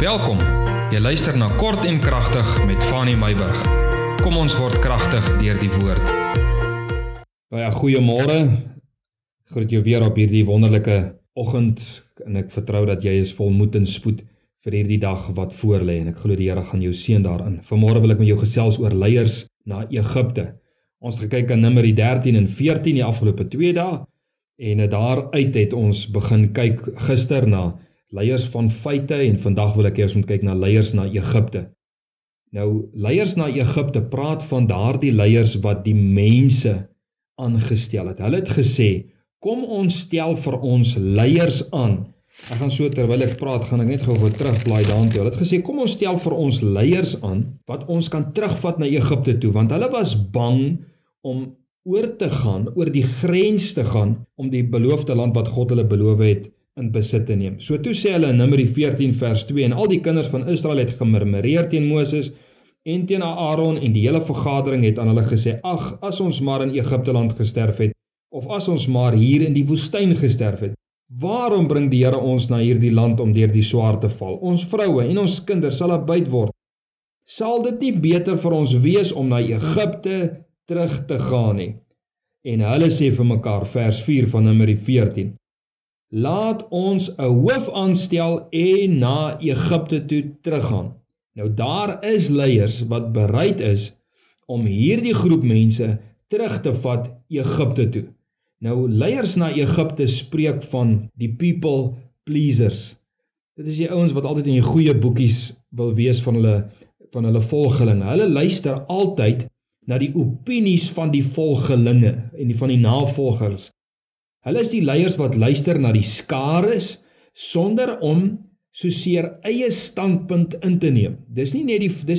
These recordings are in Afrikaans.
Welkom, jy luister na Kort en Kragtig met Fanny Meyburg. Kom ons word kragtig deur die woord. Ja, goeiemôre. Ek groet jou weer op hierdie wonderlike oggend en ek vertrou dat jy is vol moed en spoed vir hierdie dag wat voorlê en ek glo die Here gaan jou seën daarin. Vanmôre wil ek met jou gesels oor leiers na Egipte. Ons het gekyk aan Numeri 13 en 14 die afgelope 2 dae en daaruit het ons begin kyk gister na leiers van feite en vandag wil ek eers moet kyk na leiers na Egipte. Nou, leiers na Egipte praat van daardie leiers wat die mense aangestel het. Hulle het gesê, kom ons stel vir ons leiers aan. Ek gaan so terwyl ek praat, gaan ek net gou terugblaai daartoe. Hulle het gesê, kom ons stel vir ons leiers aan wat ons kan terugvat na Egipte toe, want hulle was bang om oor te gaan, oor die grens te gaan, om die beloofde land wat God hulle beloof het, in besit te neem. So toe sê hulle in Numeri 14 vers 2, en al die kinders van Israel het gemurmureer teen Moses en teen Aaron en die hele vergadering het aan hulle gesê, ag, as ons maar in Egipte land gesterf het, of as ons maar hier in die woestyn gesterf het, waarom bring die Here ons na hierdie land om deur die swaard te val? Ons vroue en ons kinders sal uitbuit word. Sal dit nie beter vir ons wees om na Egipte terug te gaan nie? En hulle sê vir mekaar, vers 4 van Numeri 14, laat ons 'n hoof aanstel en na Egipte toe teruggaan. Nou daar is leiers wat bereid is om hierdie groep mense terug te vat Egipte toe. Nou leiers na Egipte spreek van die people pleasers. Dit is die ouens wat altyd in die goeie boekies wil wees van hulle volgelinge. Hulle luister altyd na die opinies van die volgelinge en van die navolgers. Hulle is die leiers wat luister na die skares sonder om soseer eie standpunt in te neem. Dis nie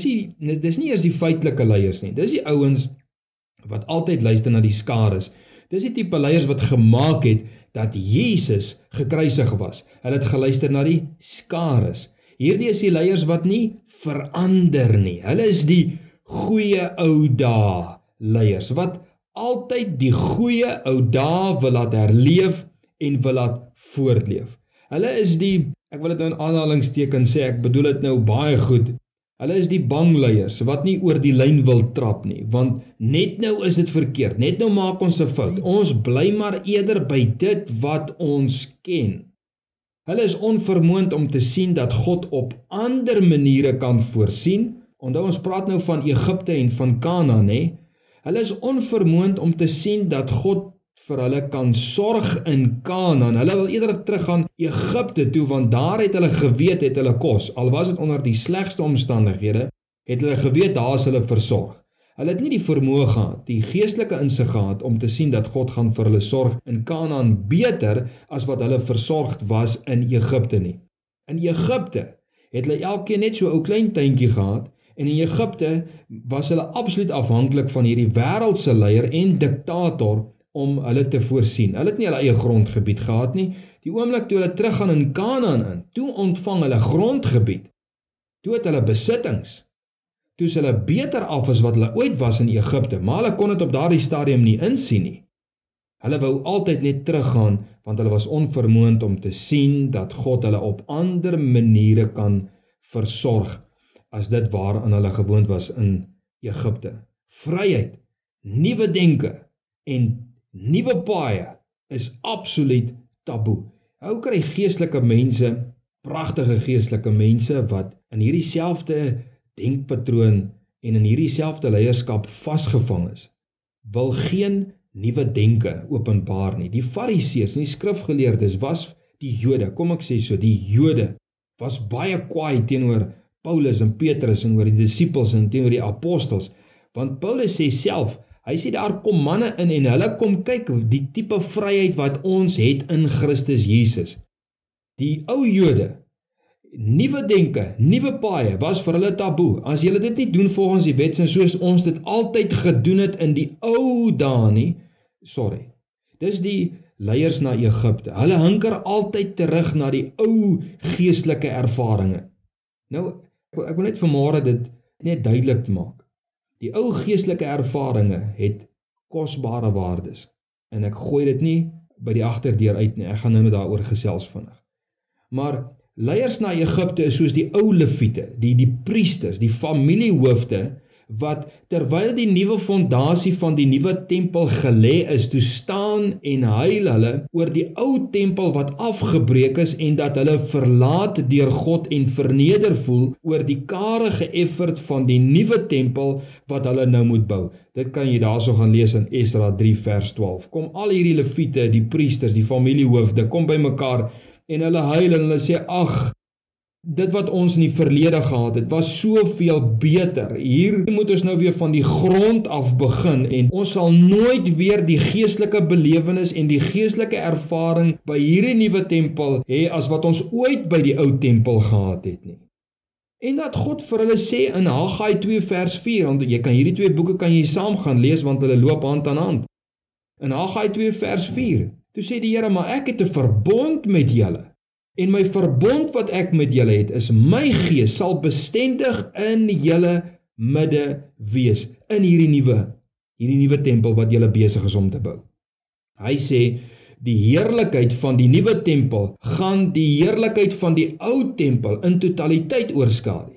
eers die feitelike leiers nie. Dis die ouens wat altyd luister na die skares. Dis die tipe leiers wat gemaak het dat Jesus gekruisig was. Hulle het geluister na die skares. Hierdie is die leiers wat nie verander nie. Hulle is die goeie ou dae leiers wat altyd die goeie ou dae wil laat herleef en wil laat voortleef. Hulle is die, ek wil dit nou in aanhalingstekens sê, ek bedoel dit nou baie goed, hulle is die bangleiers wat nie oor die lyn wil trap nie, want net nou is dit verkeerd, net nou maak ons 'n fout, ons bly maar eerder by dit wat ons ken. Hulle is onvermoond om te sien dat God op ander maniere kan voorsien. Onthou ons praat nou van Egipte en van Kanaan, hè? Hulle is onvermoond om te sien dat God vir hulle kan sorg in Kanaan. Hulle wil eerder teruggaan Egipte toe, want daar het hulle geweet, het hulle kos. Al was dit onder die slegste omstandighede, het hulle geweet, daar is hulle versorg. Hulle het nie die vermoë gehad, die geestelike insig gehad, om te sien dat God gaan vir hulle sorg in Kanaan beter, as wat hulle versorgd was in Egipte nie. In Egipte het hulle elkeen net so 'n ou klein tuintjie gehad, en in Egipte was hulle absoluut afhanklik van hierdie wêreldse leier en diktator om hulle te voorsien. Hulle het nie hulle eie grondgebied gehad nie. Die oomblik toe hulle teruggaan in Kanaan in, toe ontvang hulle grondgebied. Toe het hulle besittings. Toe is hulle beter af as wat hulle ooit was in Egipte, maar hulle kon dit op daardie stadium nie insien nie. Hulle wou altyd net teruggaan, want hulle was onvermoond om te sien dat God hulle op ander maniere kan versorg as dit waaraan hulle gewoond was in Egipte. Vryheid, nuwe denke en nuwe paaie is absoluut taboe. Hoe kry geestelike mense, pragtige geestelike mense wat in hierdie selfde denkpatroon en in hierdie selfde leierskap vasgevang is, wil geen nuwe denke openbaar nie. Die Fariseërs en die skrifgeleerdes was die Jode, kom ek sê so, die Jode was baie kwaai teenoor Paulus en Petrus en oor die disippels en teenoor die apostels, want Paulus sê self, hy sê daar kom manne in en hulle kom kyk die tipe vryheid wat ons het in Christus Jesus. Die ou Jode, nuwe denke, nuwe paaie was vir hulle taboe. As julle dit nie doen volgens die wet en soos ons dit altyd gedoen het in die ou dae nie, dis die leiers na Egipte. Hulle hinker altyd terug na die ou geestelike ervarings. Nou, ek wil net vanmôre dit net duidelik maak. Die ou geestelike ervarings het kosbare waardes. En ek gooi dit nie by die agterdeur uit nie. Ek gaan nou daaroor gesels vinnig. Maar Leiers na Egipte is soos die ou leviete, die priesters, die familiehoofde, wat terwyl die nuwe fondasie van die nuwe tempel gelê is, toe staan en huil hulle oor die ou tempel wat afgebreek is en dat hulle verlaat deur God en verneder voel oor die karige effort van die nuwe tempel wat hulle nou moet bou. Dit kan jy daarso gaan lees in Esra 3 vers 12. Kom al hierdie leviete, die priesters, die familiehoofde, kom by mekaar en hulle huil en hulle sê, ag, dit wat ons in die verlede gehad het, was soveel beter. Hier moet ons nou weer van die grond af begin en ons sal nooit weer die geestelike belewenis en die geestelike ervaring by hierdie nuwe tempel hê as wat ons ooit by die ou tempel gehad het nie. En dat God vir hulle sê in Haggai 2 vers 4, want jy kan hierdie twee boeke kan jy saam gaan lees want hulle loop hand aan hand. In Haggai 2 vers 4, toe sê die Here, maar ek het 'n verbond met julle. En my verbond wat ek met julle het, is my gees sal bestendig in julle midde wees, in hierdie nuwe tempel wat julle besig is om te bou. Hy sê, die heerlikheid van die nuwe tempel gaan die heerlikheid van die ou tempel in totaliteit oorskadu.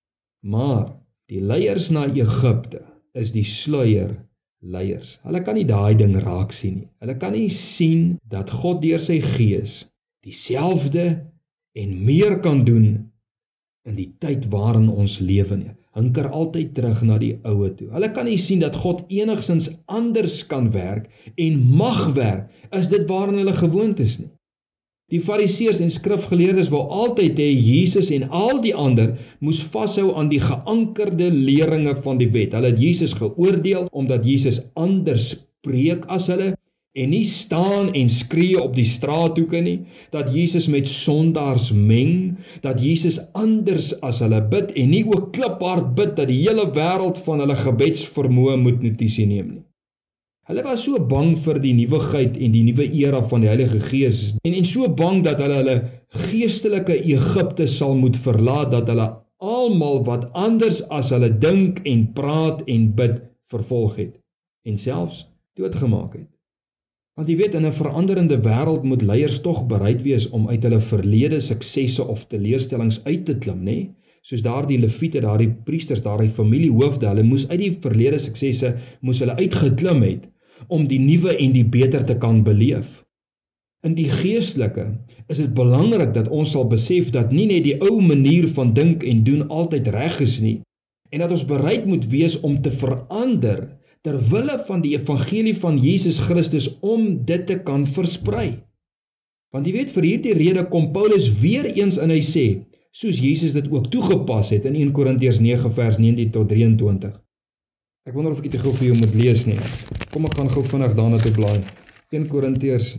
Maar die leiers na Egipte is die sluier leiers. Hulle kan nie daai ding raak sien nie. Hulle kan nie sien dat God deur sy gees dieselfde en meer kan doen in die tyd waarin ons lewe nie. Hinker altyd terug na die oue toe. Hulle kan nie sien dat God enigsins anders kan werk en mag werk as dit waarin hulle gewoond is nie. Die Fariseërs en skrifgeleerdes wou altyd hê Jesus en al die ander moes vashou aan die geankerde leringe van die wet. Hulle het Jesus geoordeel omdat Jesus anders preek as hulle en nie staan en skree op die straathoeke nie, dat Jesus met sondaars meng, dat Jesus anders as hulle bid en nie ook kliphard bid dat die hele wêreld van hulle gebedsvermoë moet notisie neem nie. Hulle was so bang vir die nuwigheid en die nuwe era van die Heilige Gees en so bang dat hulle geestelike Egipte sal moet verlaat, dat hulle almal wat anders as hulle dink en praat en bid vervolg het en selfs doodgemaak het. Want jy weet, in 'n veranderende wêreld moet leiers tog bereid wees om uit hulle verlede suksesse of teleurstellings uit te klim, nê? Soos daardie leviete, daardie priesters, daardie familiehoofde, hulle moes uit die verlede suksesse moes hulle uitgeklim het om die nuwe en die beter te kan beleef. In die geestelike is dit belangrik dat ons sal besef dat nie net die ou manier van dink en doen altyd reg is nie, en dat ons bereid moet wees om te verander ter wille van die evangelie van Jesus Christus om dit te kan versprei. Want jy weet, vir hierdie rede kom Paulus weer eens en hy sê, soos Jesus dit ook toegepas het in 1 Korintiërs 9 vers 19 tot 23. Ek wonder of ek dit gou vir jou moet lees nie. Kom ek gaan gou vinnig daarna toe blaai. 1 Korintiërs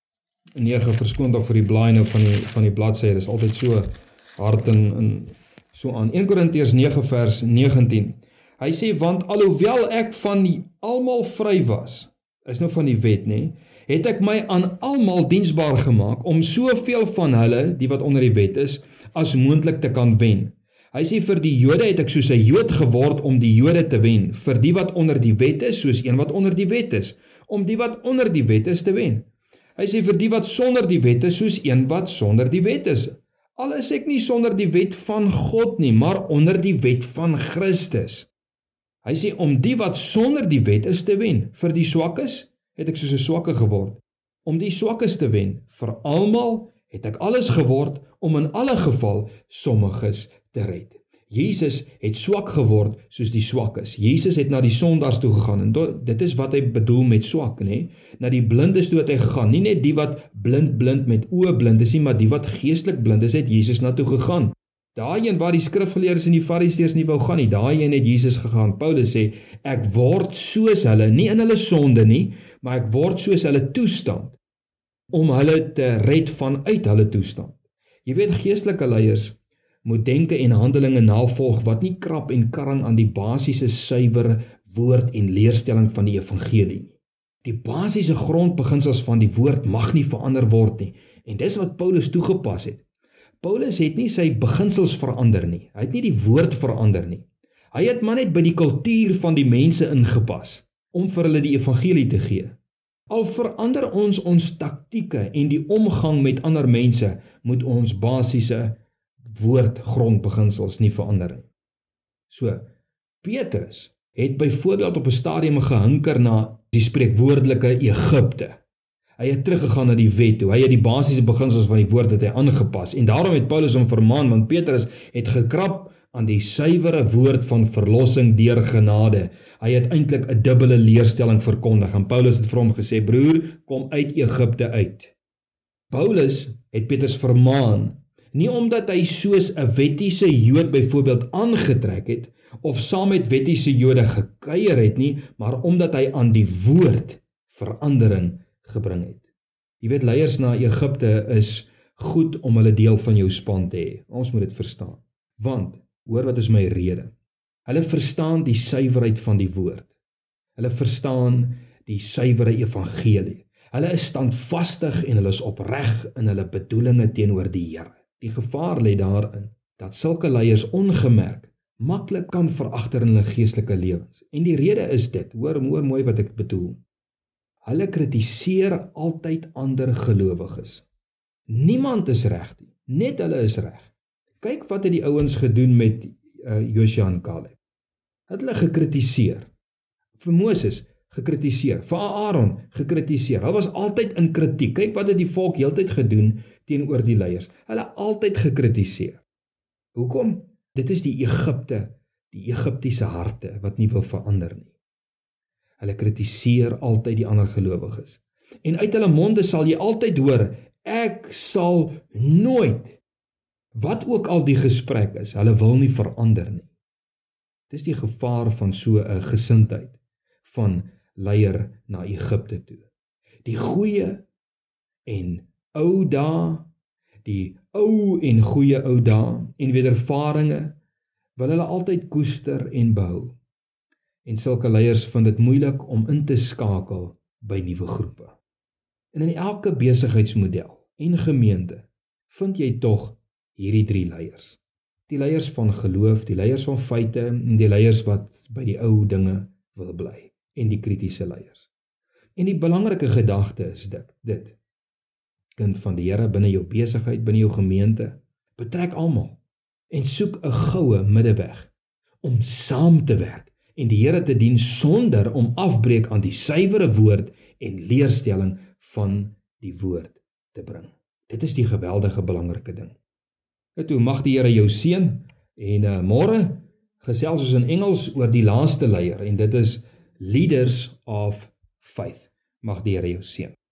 9, verskoon tog vir die blaai nou van die bladsy, dit is altyd so hard en so aan. 1 Korintiërs 9 vers 19. Hy sê, want alhoewel ek van almal vry was, is nou van die wet, nê, het ek my aan almal diensbaar gemaak, om soveel van hulle, die wat onder die wet is, as moontlik te kan wen. Hy sê, vir die Jode het ek soos 'n Jood geword om die Jode te wen, vir die wat onder die wet is, soos een wat onder die wet is, om die wat onder die wet is te wen. Hy sê, vir die wat sonder die wet is, soos een wat sonder die wet is. Al is ek nie sonder die wet van God nie, maar onder die wet van Christus. Hy sê, om die wat sonder die wet is te wen, vir die swakkes het ek soos 'n swakke geword, om die swakkes te wen, vir almal het ek alles geword, om in alle geval sommiges te red. Jesus het swak geword soos die swakkes. Jesus het na die sondaars toe gegaan, en dit is wat hy bedoel met swak, nê? Na die blindes toe het hy gegaan, nie net die wat blind met oë blind is nie, maar die wat geestelik blind is, het Jesus na toe gegaan. Daai een waar die skrifgeleerdes en die fariseërs nie wou gaan nie, daai een het Jesus gegaan. Paulus sê, ek word soos hulle, nie in hulle sonde nie, maar ek word soos hulle toestand, om hulle te red vanuit hulle toestand. Jy weet, geestelike leiers moet denke en handelinge navolg wat nie krap en karring aan die basiese suiwer woord en leerstelling van die evangelie nie. Die basiese grondbeginsels van die woord mag nie verander word nie, en dis wat Paulus toegepas het. Paulus het nie sy beginsels verander nie, hy het nie die woord verander nie. Hy het maar net by die kultuur van die mense ingepas, om vir hulle die evangelie te gee. Al verander ons taktieke en die omgang met ander mense, moet ons basiese woordgrondbeginsels nie verander nie. So, Petrus het byvoorbeeld op 'n stadium gehinker na die spreekwoordelike Egipte. Hy het teruggegaan na die wet toe, hy het die basiese beginsels van die woord het hy aangepas, en daarom het Paulus hom vermaan, want Petrus het gekrap aan die suiwere woord van verlossing deur genade. Hy het eintlik 'n dubbele leerstelling verkondig, en Paulus het vir hom gesê, broer, kom uit Egipte uit. Paulus het Petrus vermaan, nie omdat hy soos 'n wettiese Jood byvoorbeeld aangetrek het, of saam met wettiese Jode gekuier het nie, maar omdat hy aan die woord verandering gebring het. Jy weet, leiers na Egipte is goed om hulle deel van jou span te hê. Ons moet dit verstaan. Want, hoor wat is my rede? Hulle verstaan die suiwerheid van die woord. Hulle verstaan die suiwere evangelie. Hulle is standvastig en hulle is opreg in hulle bedoelinge teenoor die Here. Die gevaar lê daarin dat sulke leiers ongemerk maklik kan veragter in hulle geestelike lewens. En die rede is dit, hoor mooi wat ek bedoel. Hulle kritiseer altyd ander gelowiges. Niemand is reg nie, net hulle is reg. Kyk wat het die ouens gedoen met Josua en Caleb. Het hulle gekritiseer. Vir Moses gekritiseer, vir Aaron gekritiseer. Hulle was altyd in kritiek. Kyk wat het die volk heeltyd gedoen teenoor die leiers. Hulle altyd gekritiseer. Hoekom? Dit is die Egiptiese harte wat nie wil verander nie. Hulle kritiseer altyd die ander gelowiges. En uit hulle monde sal jy altyd hoor, ek sal nooit, wat ook al die gesprek is, hulle wil nie verander nie. Dit is die gevaar van so 'n gesindheid van leier na Egipte toe. Die goeie en ou dae, die ou en goeie ou dae en wedervarings wil hulle altyd koester en behou. En sulke leiers vind dit moeilik om in te skakel by nuwe groepe. En in elke besigheidsmodel en gemeente vind jy tog hierdie 3 leiers. Die leiers van geloof, die leiers van feite en die leiers wat by die ou dinge wil bly. En die kritiese leiers. En die belangrike gedagte is dit. Kind van die Here binne jou besigheid, binne jou gemeente, betrek almal en soek 'n goue middeweg om saam te werk en die Here te dien sonder om afbreek aan die suiwere woord en leerstelling van die woord te bring. Dit is die geweldige belangrike ding. Toe mag die Here jou seën en môre gesels ons in Engels oor die laaste leier en dit is Leaders of Faith. Mag die Here jou seën.